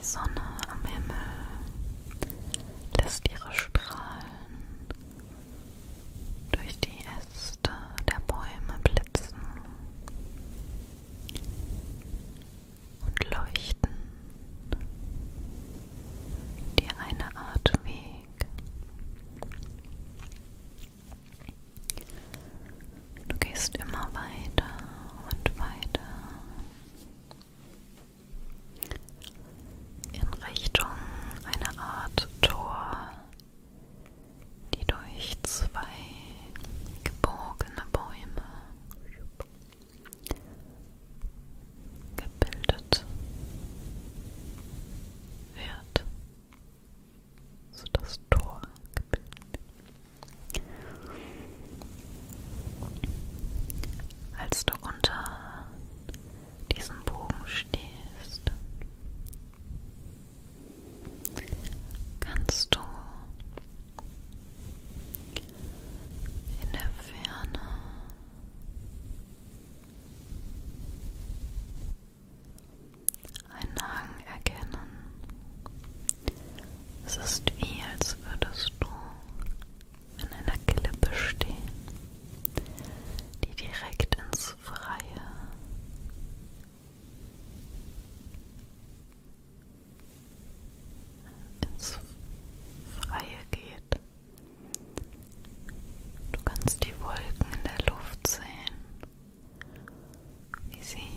Die Sonne am Himmel lässt ihre Strahlen durch die Äste der Bäume blitzen und leuchten dir eine Art Weg. Du gehst immer weiter und weiter in Richtung einer Art Tor, die durch zwei gebogene Bäume gebildet wird. So das Tor gebildet. Als du unter diesem Bogen stehst, kannst du in der Ferne einen Hang erkennen. Es ist wie, als würdest du an einer Klippe stehen, die direkt ins Freie geht. Du kannst die Wolken in der Luft sehen, wie sie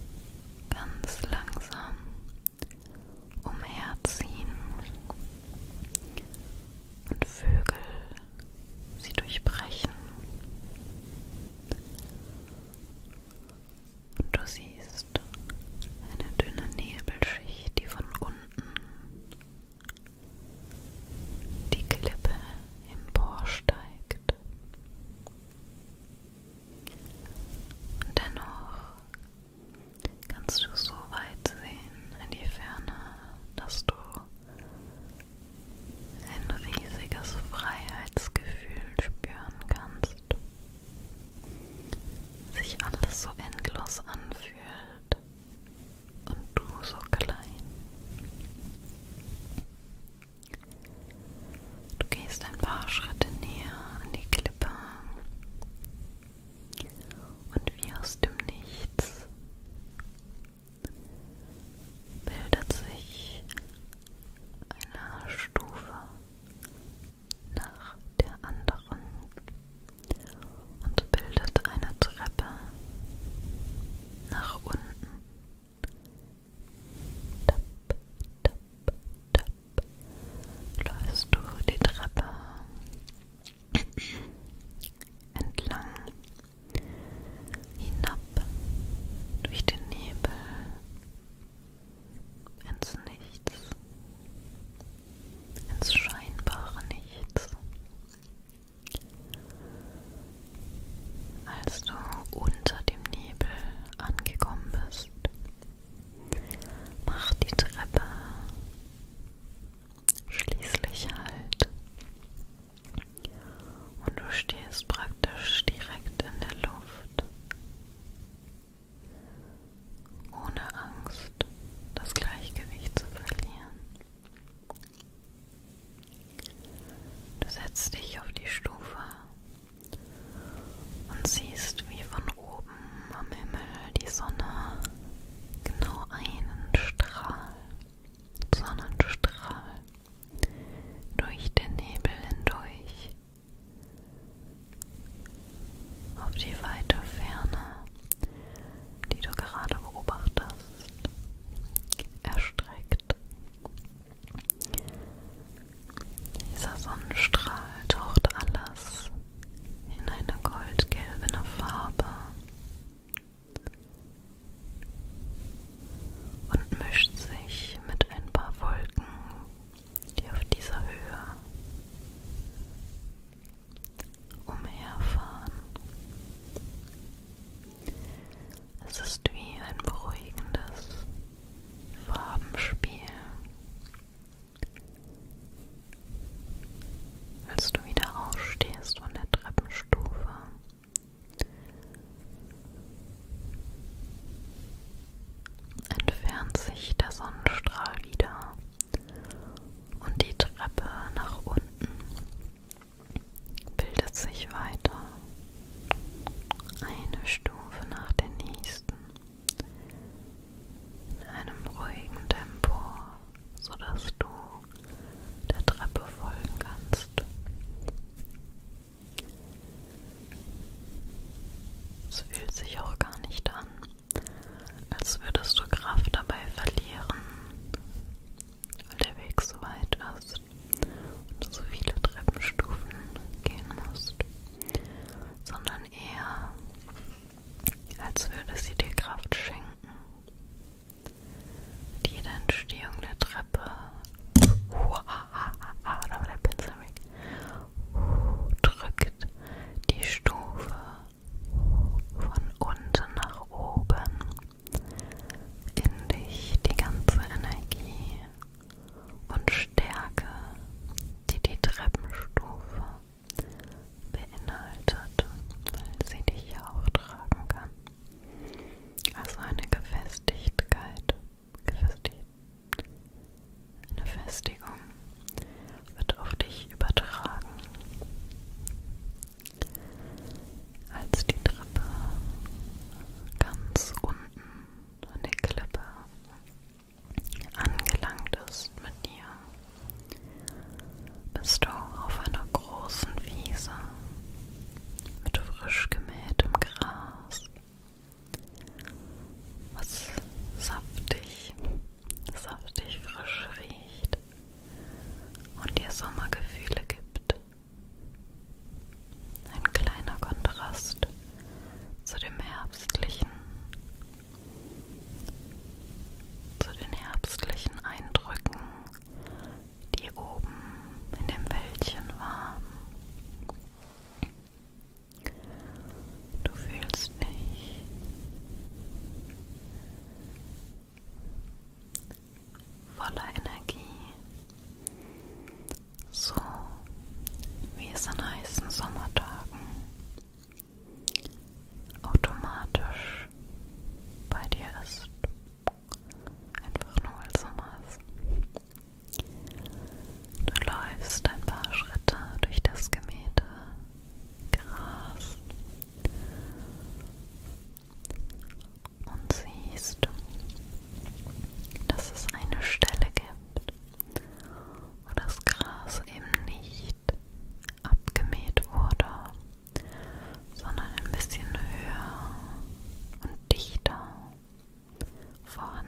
ganz langsam umherziehen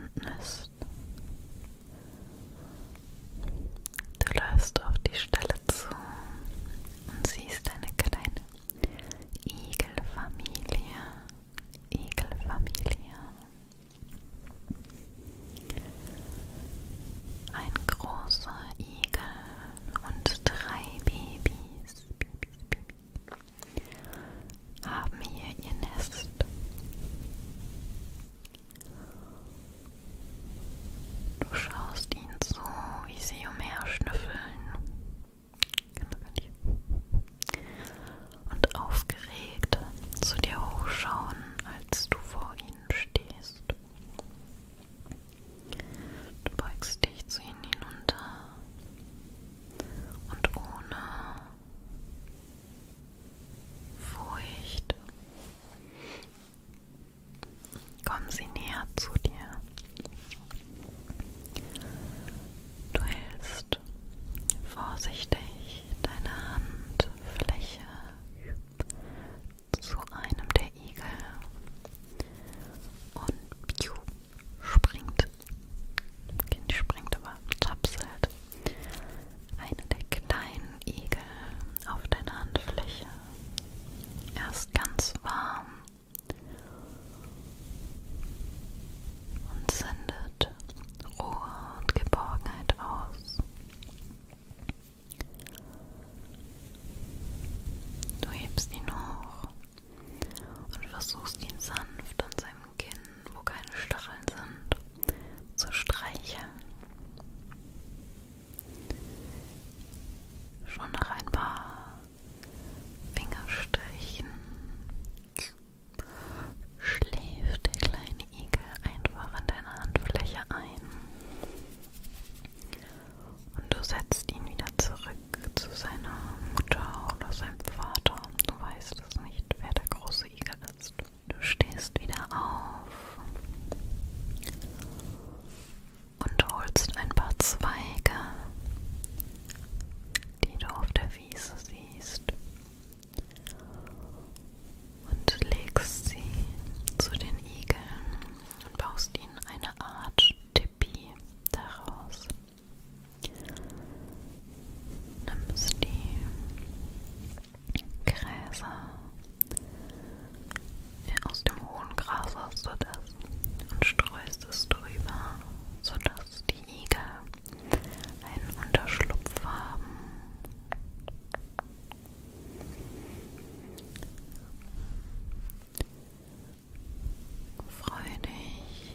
unten ist. Du läufst auf die Stelle zu und siehst eine kleine Igelfamilie. Ein großer Igel und 3 Babys haben hier ihr Nest. Du schaust ihnen zu, wie sie umherschnüffeln. Und aufgeregt zu dir hochschauen, als du vor ihnen stehst. Du beugst dich zu ihnen hinunter und ohne Furcht kommen sie näher zu dir. Du hältst vorsichtig deine Handfläche zu einem der Igel und piu, springt aber, tapselt eine der kleinen Igel auf deine Handfläche. Erst ganz warm und sendet Ruhe und Geborgenheit aus. Du hebst ihn hoch und versuchst ihn sanft an seinem Kinn, wo keine Stacheln sind, zu streicheln. Schon nach ein paar Fingerstrichen schläft der kleine Igel einfach in deiner Handfläche ein. Und du setzt ihn wieder zurück zu seiner Mutter oder seinem Vater. Du weißt es nicht, wer der große Igel ist. Du stehst wieder auf und holst ein paar Zweige, die du auf der Wiese siehst, und legst sie zu den Igeln und baust ihnen eine Art Tipi daraus. Nimmst die Gräser aus dem hohen Gras hast du das und streust es drüber, sodass die Igel einen Unterschlupf haben. Freu dich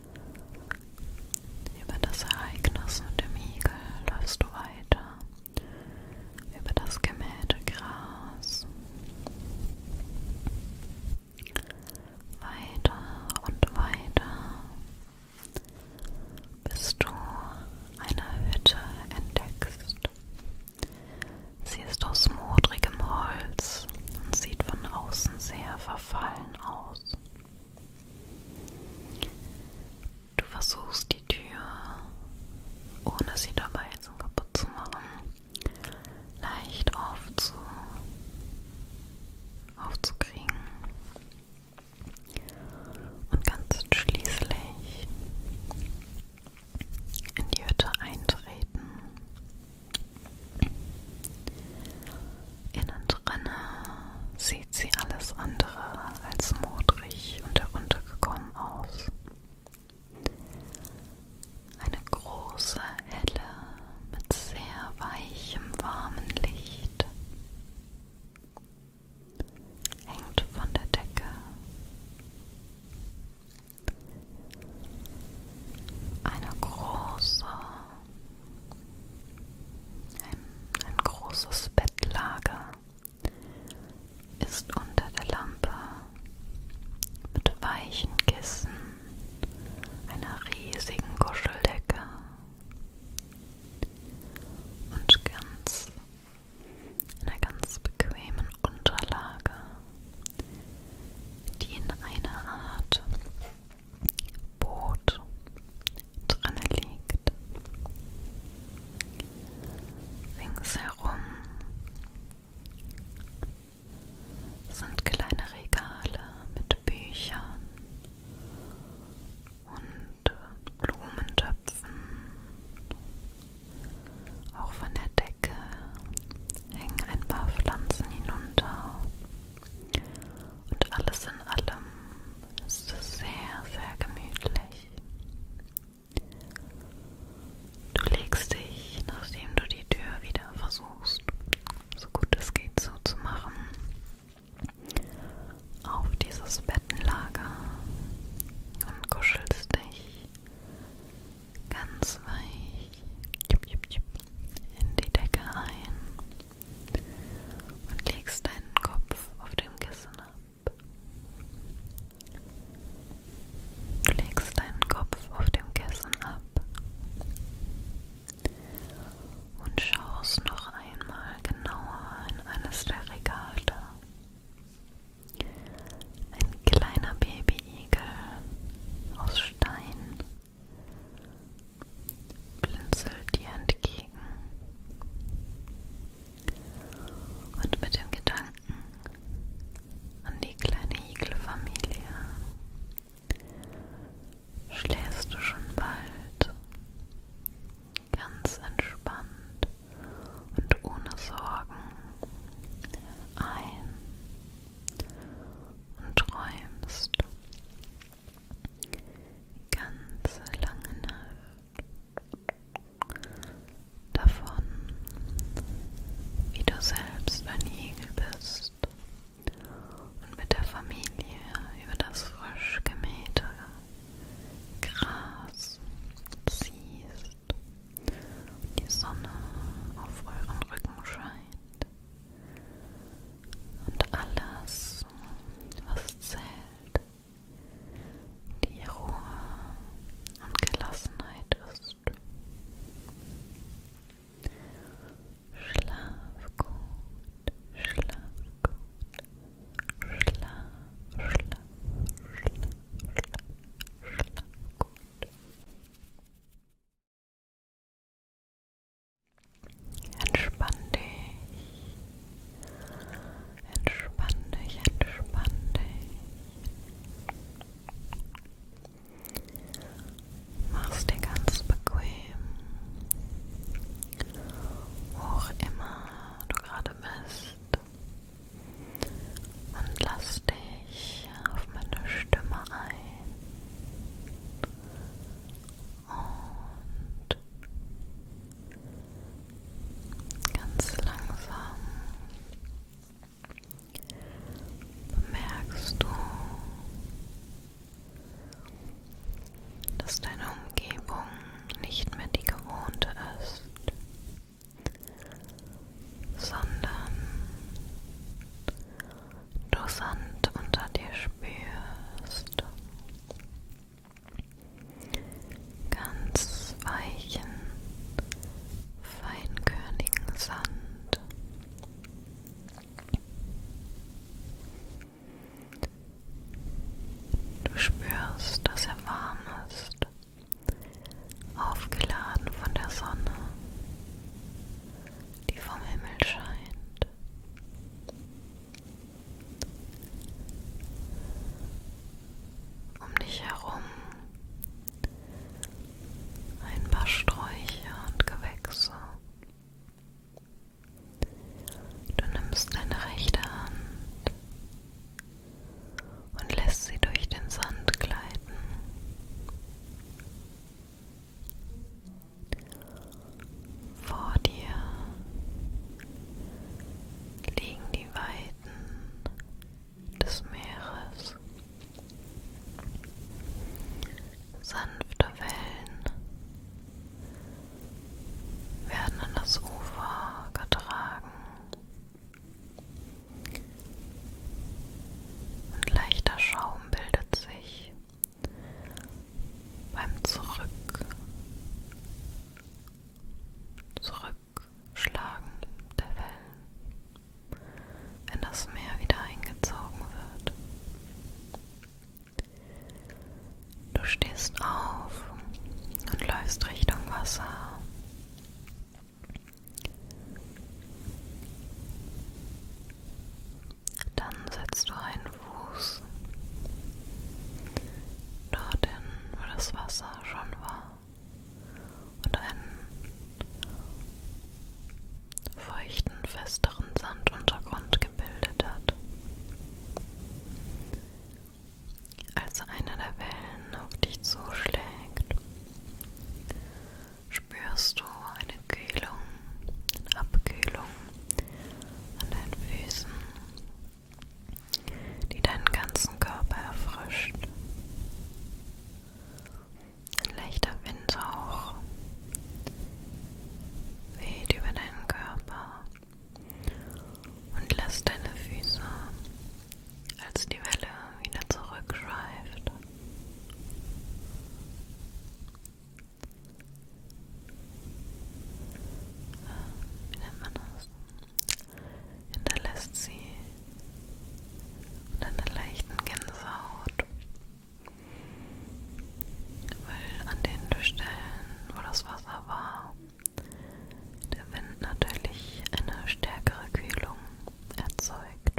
über das Ereignis mit dem Igel, läufst du weiter über das gemähte Gras, weiter und weiter, bis du eine Hütte entdeckst. Sie ist aus modrigem Holz und sieht von außen sehr verfallen aus. Du versuchst die Tür, ohne sie dabei kaputt zu machen, leicht aufzukriegen und kannst schließlich in die Hütte eintreten. Innen drinne sieht sie alles andere als modrig und heruntergekommen aus. Eine große, helle, mit sehr weichem, warmen Licht hängt von der Decke. Ein großes Bettlager ist unter der Lampe dass deine Umgebung nicht mehr die gewohnte ist, sondern du Sand unter dir spürst, ganz weichen, feinkörnigen Sand. Du spürst, dass er warm ist, aufgeladen von der Sonne, die vom Himmel scheint. Um dich herum ein paar Sträucher und Gewächse. Du nimmst deine rechte Hand und lässt sie durch den Sand gleiten. Vor dir liegen die Weiten des Meeres. Sanfte Wellen werden an das Ufer getragen und leichter Schaum bildet sich beim Zurückschlagen der Wellen, wenn das Meer wieder eingezogen wird. Du stehst auf und läufst Richtung Wasser. Dann setzt du einen Fuß dorthin, wo das Wasser schon war, und einen feuchten, festeren Sanduntergrund gebildet hat. Als eine der Wellen auf dich zuschlägt, spürst du eine Kühlung, eine Abkühlung an deinen Füßen, die deinen ganzen Körper erfrischt. Ein leichter Windhauch weht über deinen Körper und lässt deine Füße, als die Welle wieder zurückschweift, wie nennt man das? Hinterlässt sie mit einer leichten Gänsehaut, weil an den Stellen, wo das Wasser war, der Wind natürlich eine stärkere Kühlung erzeugt.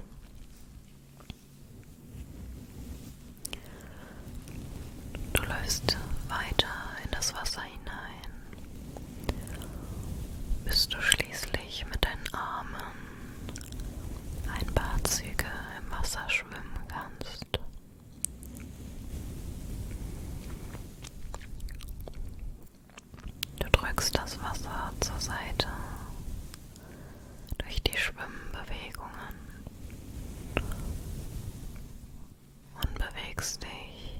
Du läufst weiter in das Wasser hinein, bis du schließlich mit deinen Armen ein paar Züge im Wasser schwimmen kannst. Du drückst das Wasser zur Seite durch die Schwimmbewegungen und bewegst dich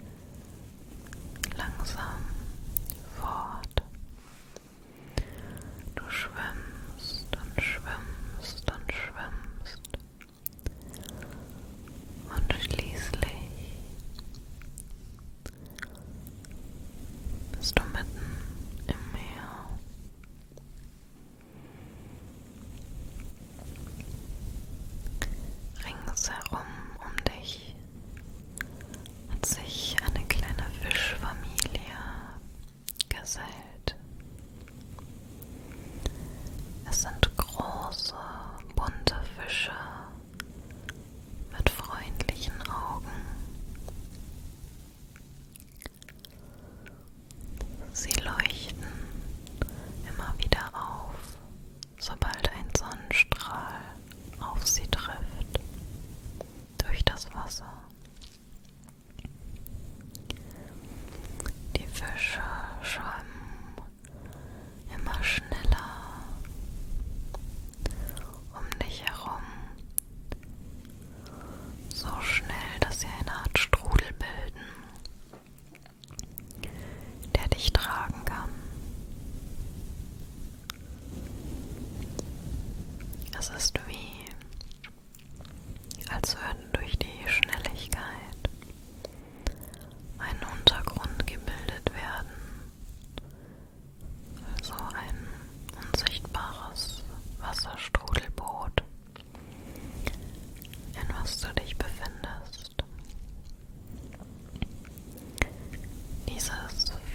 langsam fort. Du schwimmst und schwimmst und schwimmst und schließlich bist du mitten im Meer. Ringsherum um dich hat sich eine kleine Fischfamilie gesellt. Es sind große, bunte Fische mit freundlichen Augen. Sie leuchten immer wieder auf, sobald ein Sonnenstrahl auf sie trifft, durch das Wasser. Die Fische schwammen immer schneller um dich herum, so schnell, dass sie eine Art Strudel bilden,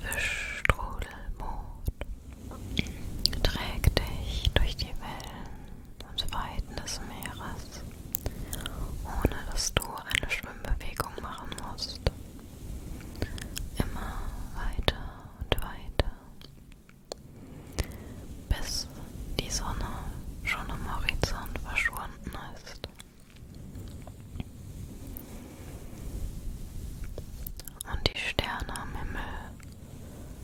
tiefe Strudelboot trägt dich durch die Wellen und Weiten des Meeres, ohne dass du eine Schwimmbewegung machen musst. Immer weiter und weiter, bis die Sonne schon am Horizont verschwunden ist. Und die Sterne am Himmel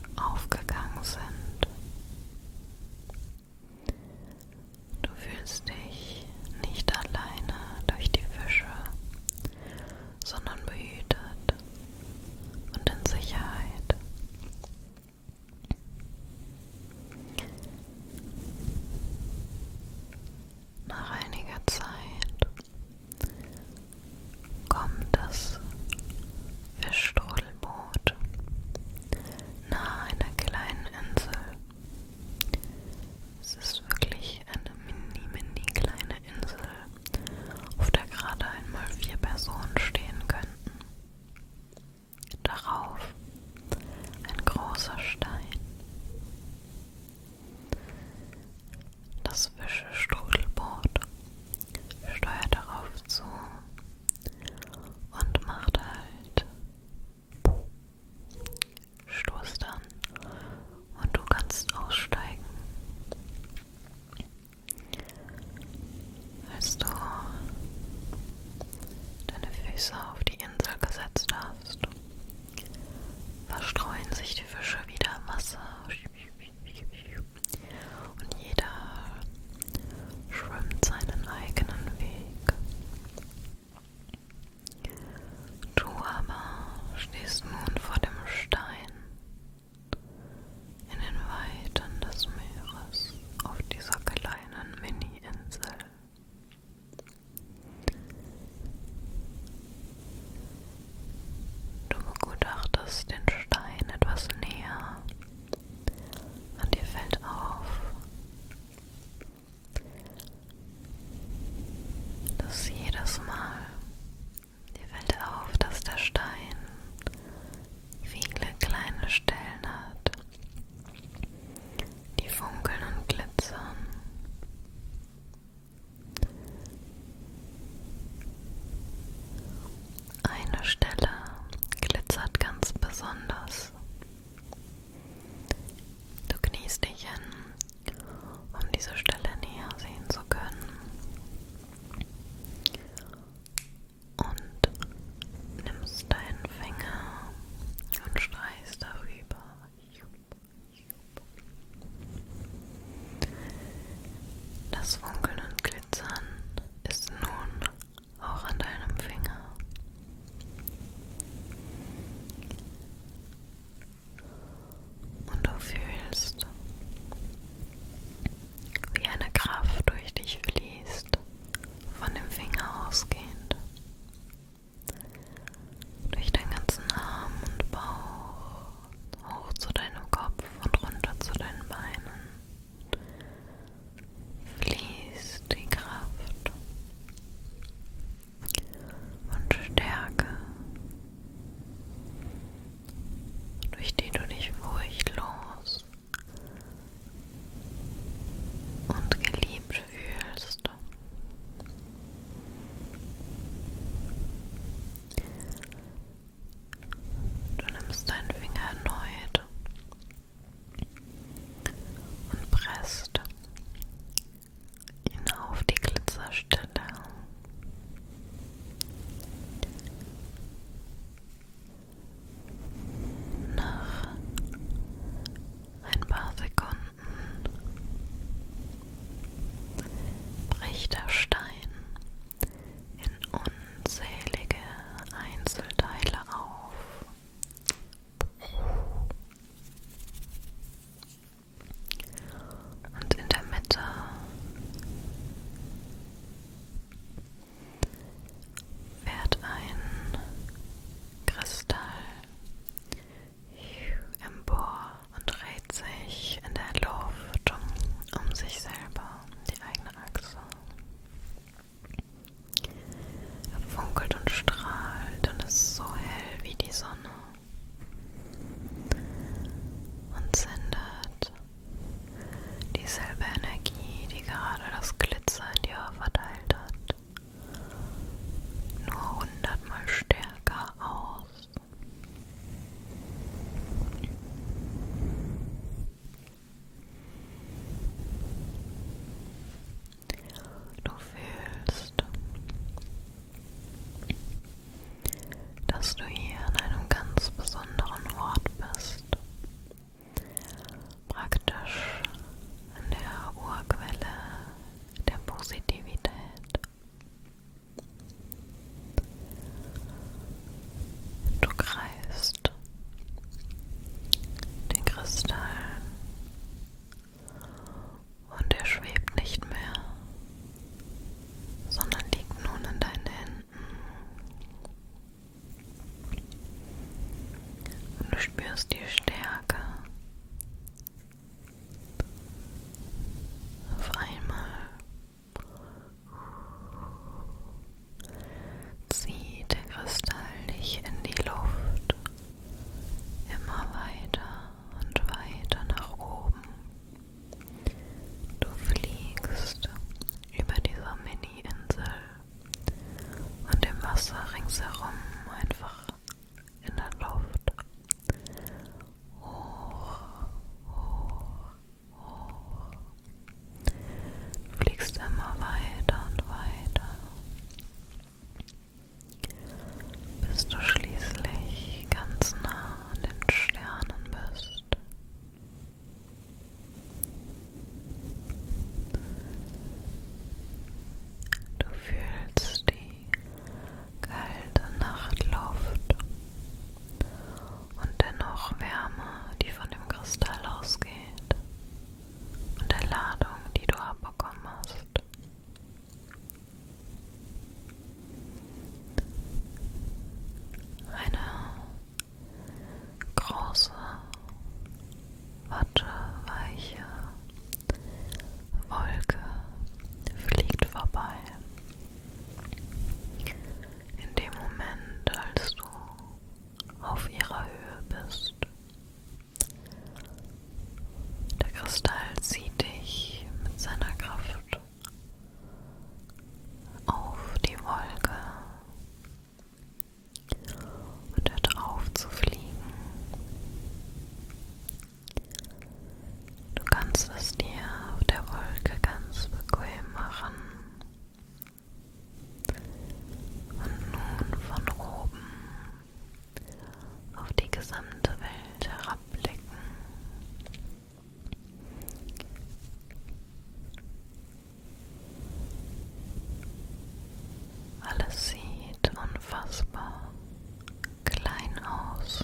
Alles sieht unfassbar klein aus.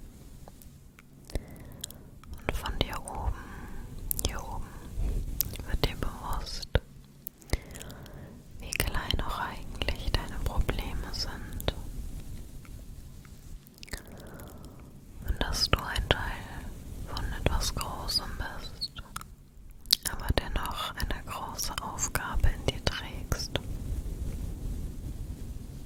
Und von dir oben, hier oben, wird dir bewusst, wie klein auch eigentlich deine Probleme sind. Und dass du ein Teil von etwas Großem bist, aber dennoch eine große Aufgabe in dir trägst.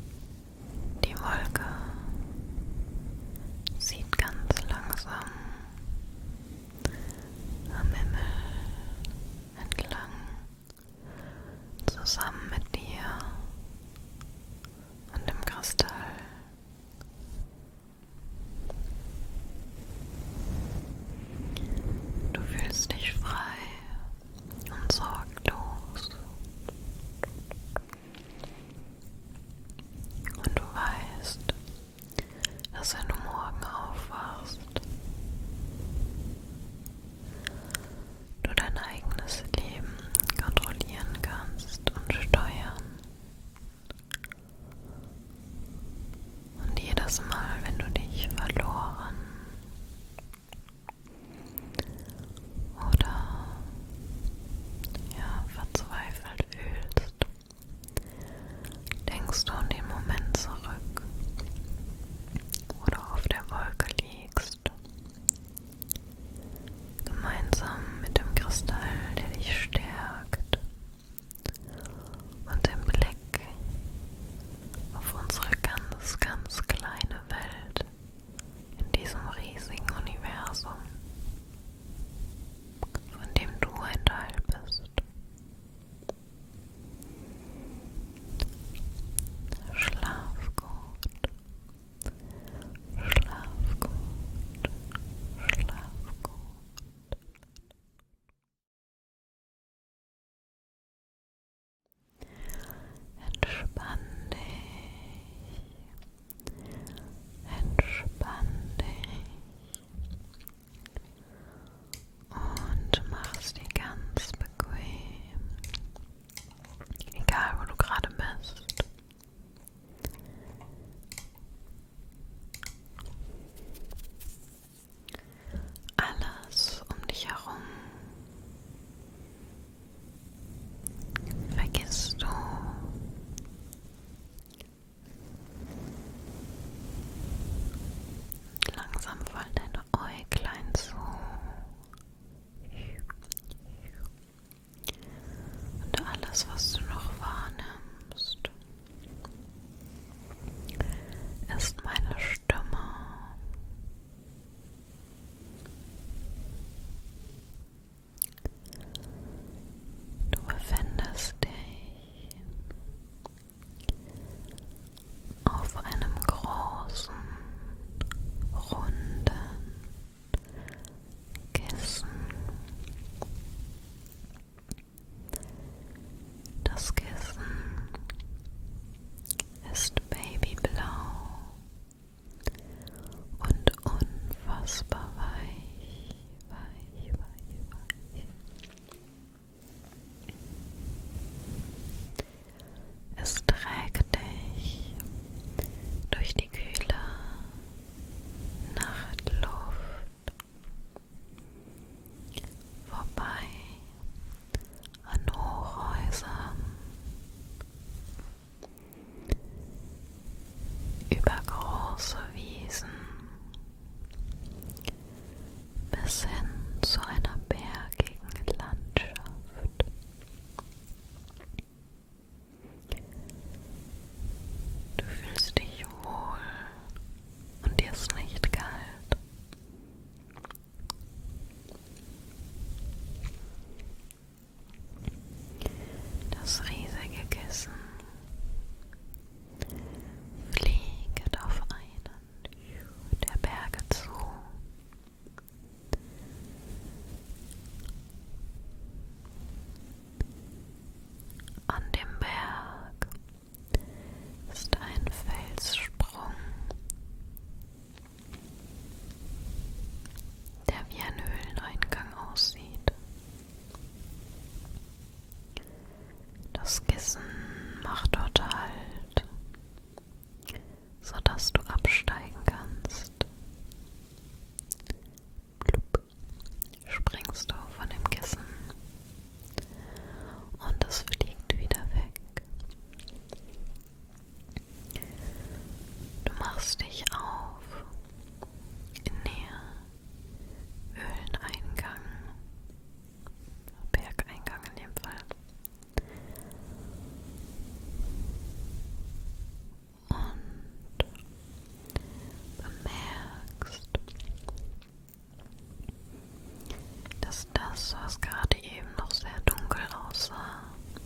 das, was gerade eben noch sehr dunkel aussah,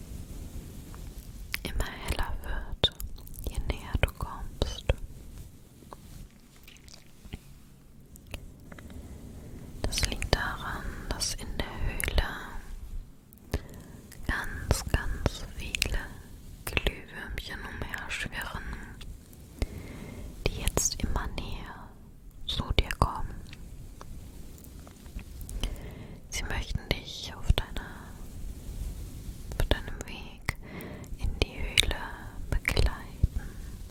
immer heller wird, je näher du kommst. Das liegt daran, dass in der Höhle ganz viele Glühwürmchen umherschwirren, die jetzt immer näher zu dir kommen. Sie möchten dich auf deinem Weg in die Höhle begleiten.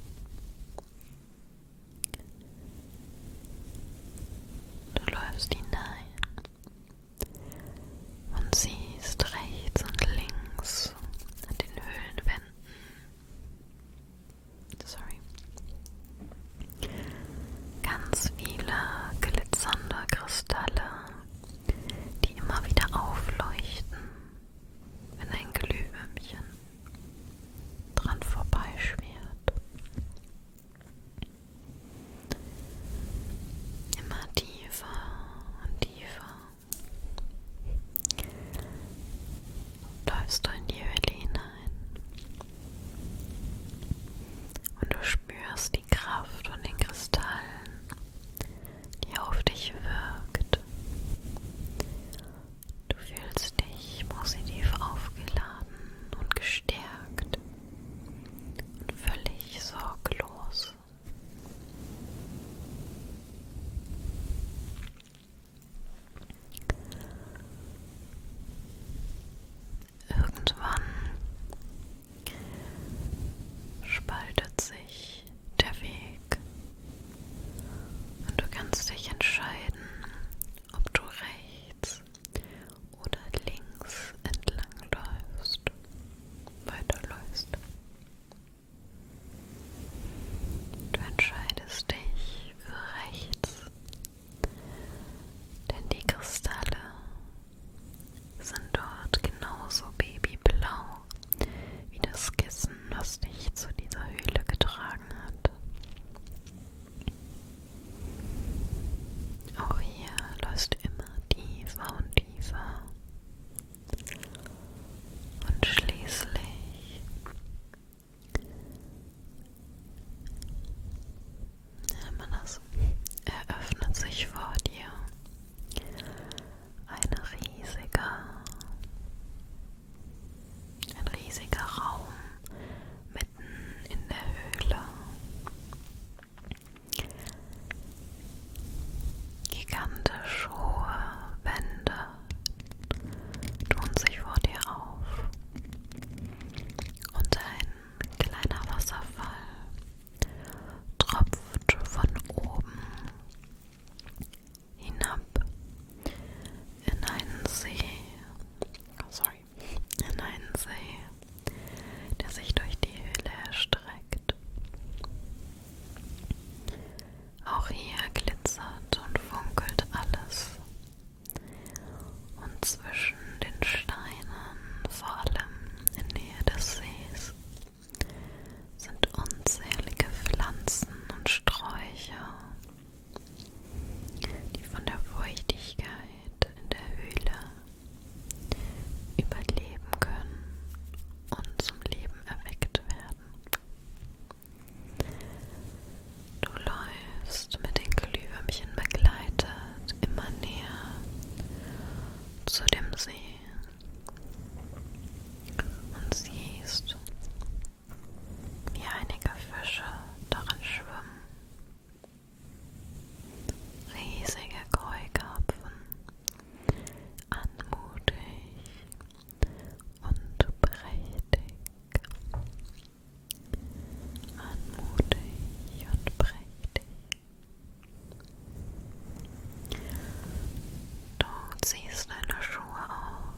Du läufst hinein und siehst rechts und links an den Höhlenwänden ganz viele glitzernde Kristalle, die immer wieder aufleuchten, wenn ein Glühwürmchen dran vorbeischwirrt. Immer tiefer und tiefer läufst du in die Höhle hinein und du spürst die Kraft von den Kristallen, die auf dich wirkt. Du fühlst dich positiv aufgeladen und gestärkt und völlig sorglos. Irgendwann spaltet sich der Weg und du kannst dich entscheiden, ob du rechts oder links entlang weiterläufst. Du entscheidest dich für rechts, denn die Kristalle sind dort genauso babyblau wie das Kissen, was dich zu dieser Höhle getragen hat. Auch hier läufst du immer tiefer und tiefer und schließlich eröffnet sich vor dir ein riesiger Raum mitten in der Höhle. Gigantisch hohe Wände tun sich vor dir auf und ein kleiner Wasserfall tropft von oben hinab in einen See, der sich durch die Höhle erstreckt. Auch hier glitzert und funkelt alles. Und zwischen den Steinen, vor allem in Nähe des Sees, sind unzählige Pflanzen und Sträucher, die von der Feuchtigkeit in der Höhle überleben können und zum Leben erweckt werden. Du läufst mit den Glühwürmchen begleitet immer näher zu dem See und siehst, wie einige Fische darin schwimmen. Riesige Keukarpfen, anmutig und prächtig. Anmutig und prächtig. Du ziehst deine Schuhe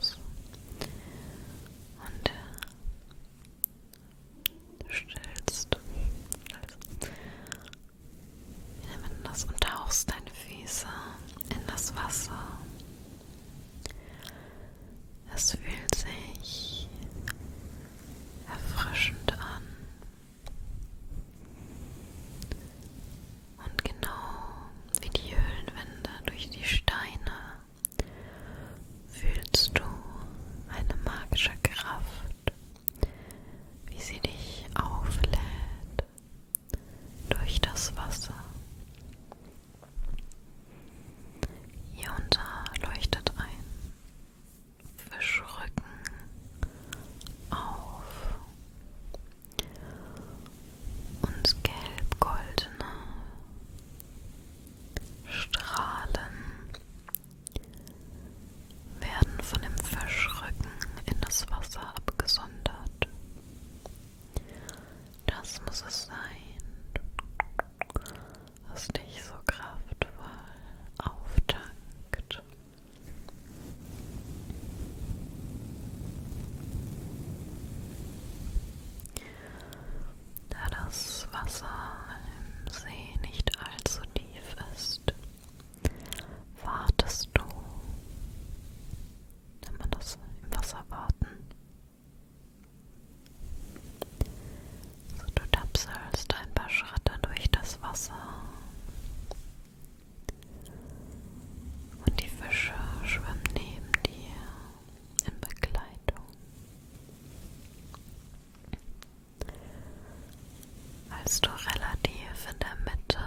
sitzt du relativ in der Mitte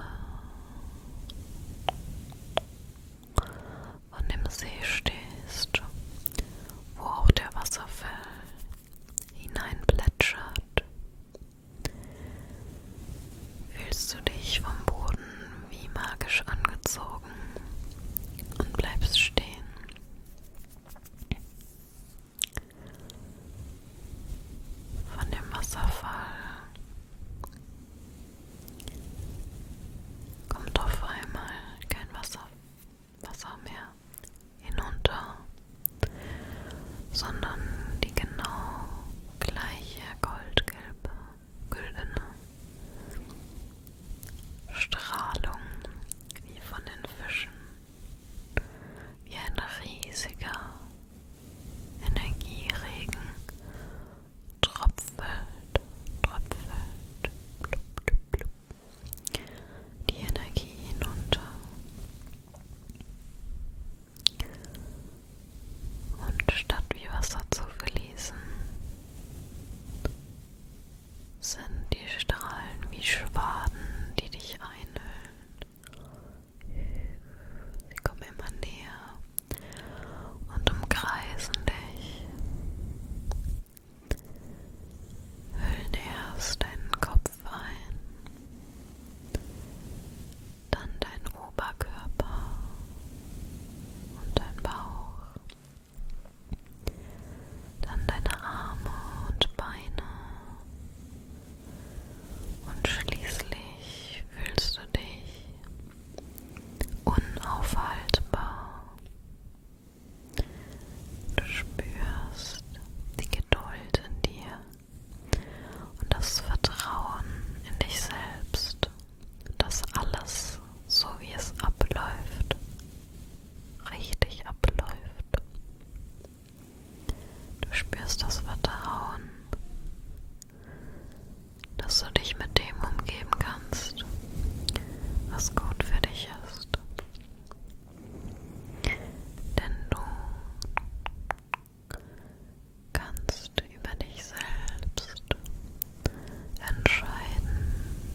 von dem See stehst, wo auch der Wasserfall hineinplätschert. Fühlst du dich vom Boden wie magisch angezogen und bleibst stehen. Von dem Wasserfall kommt auf einmal kein Wasser mehr hinunter, sondern die genau gleiche güldene Strahlung wie von den Fischen, wie ein riesiger Energieregen tropfelt, blub, blub, blub, die Energie hinunter. Und statt wie Wasser zu fließen, sind die Strahlen wie Schwaden, die dich einhüllen. Sie kommen immer näher und umkreisen dich, hüllen erst deinen Kopf ein, dann dein Oberkörper und dein Bauch, dann deine Arme und Beine und schließlich fühlst du dich unaufhaltbar. Du spürst die Geduld in dir und das Vertrauen in dich selbst, dass alles, so wie es abläuft, richtig abläuft. Du spürst das Vertrauen, dass du dich mit dem umgeben kannst, was gut für dich ist. Denn du kannst über dich selbst entscheiden.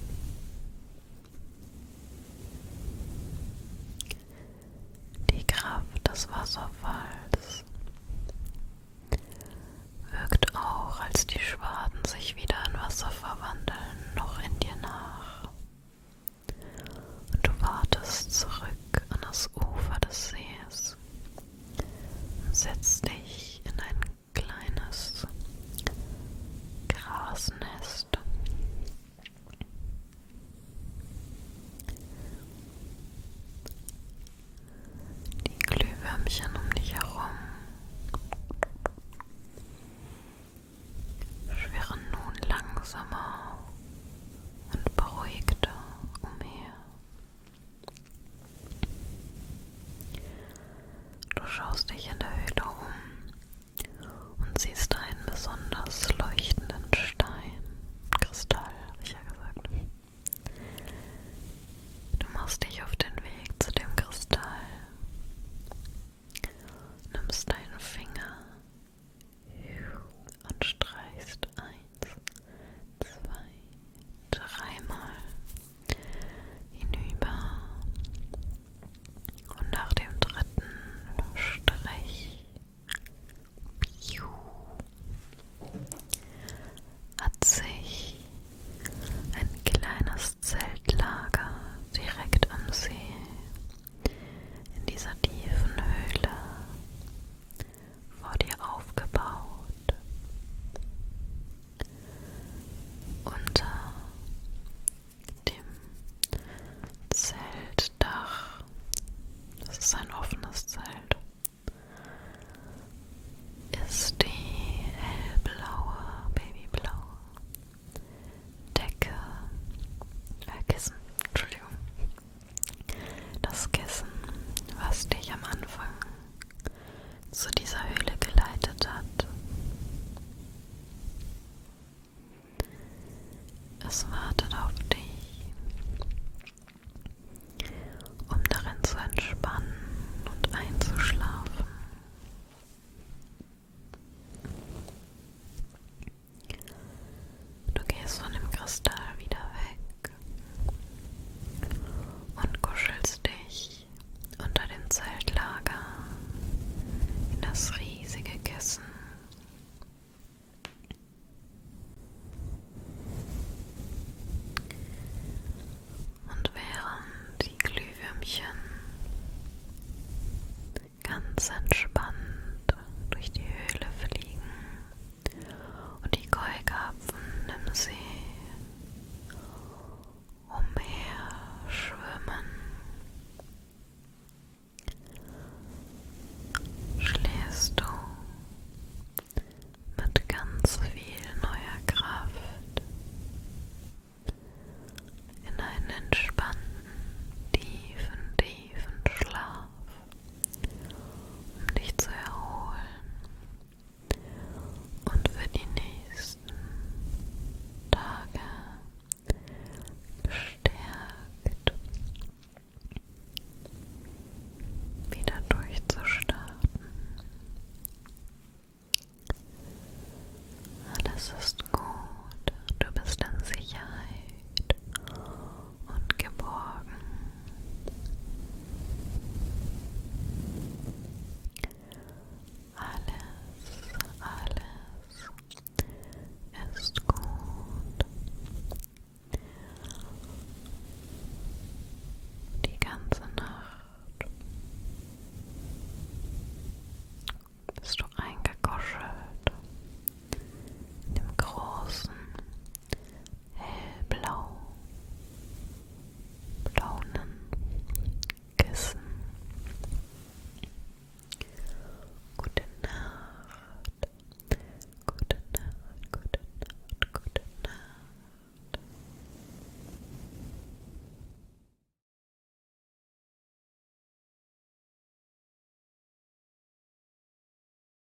Die Kraft des Wasserfalls wirkt auch, als die Schwaden sich wieder in Wasser verwandeln, noch in dir nach. Und du wartest zurück an das Ufer des Sees und setzt dich in ein kleines Grasnest. Die Glühwürmchen um dich herum schwirren nun langsamer und beruhigter umher. Du schaust dich in der Höhle um und siehst einen besonders leuchtenden Stein, Kristall, habe ich ja gesagt. Du machst dich auf den Weg zu dem Kristall, nimmst deinen Finger und streichst 1, 2, 3-mal hinüber. Und nach dem 3. Strich hat sich ein kleines Zeltlager direkt am See in dieser tiefen Höhle vor dir aufgebaut. Unter dem Zeltdach, das ist ein offenes Zelt, ist die hellblaue, babyblaue Decke, Kissen, Entschuldigung, das Kissen, was dich am Anfang zu dieser Höhle geleitet hat. Es wartet auf dich, um darin zu entspannen und einzuschlafen. Zeltlager, in das riesige Kissen. Und während die Glühwürmchen ganz entspannt durch die Höhle fliegen und die Keukarpfen im See umherschwimmen, schläfst du mit ganz viel neuer Kraft in einen entspannten, tiefen Schlaf, um dich zu erholen und für die nächsten Tage gestärkt wieder durchzustarten. Alles ist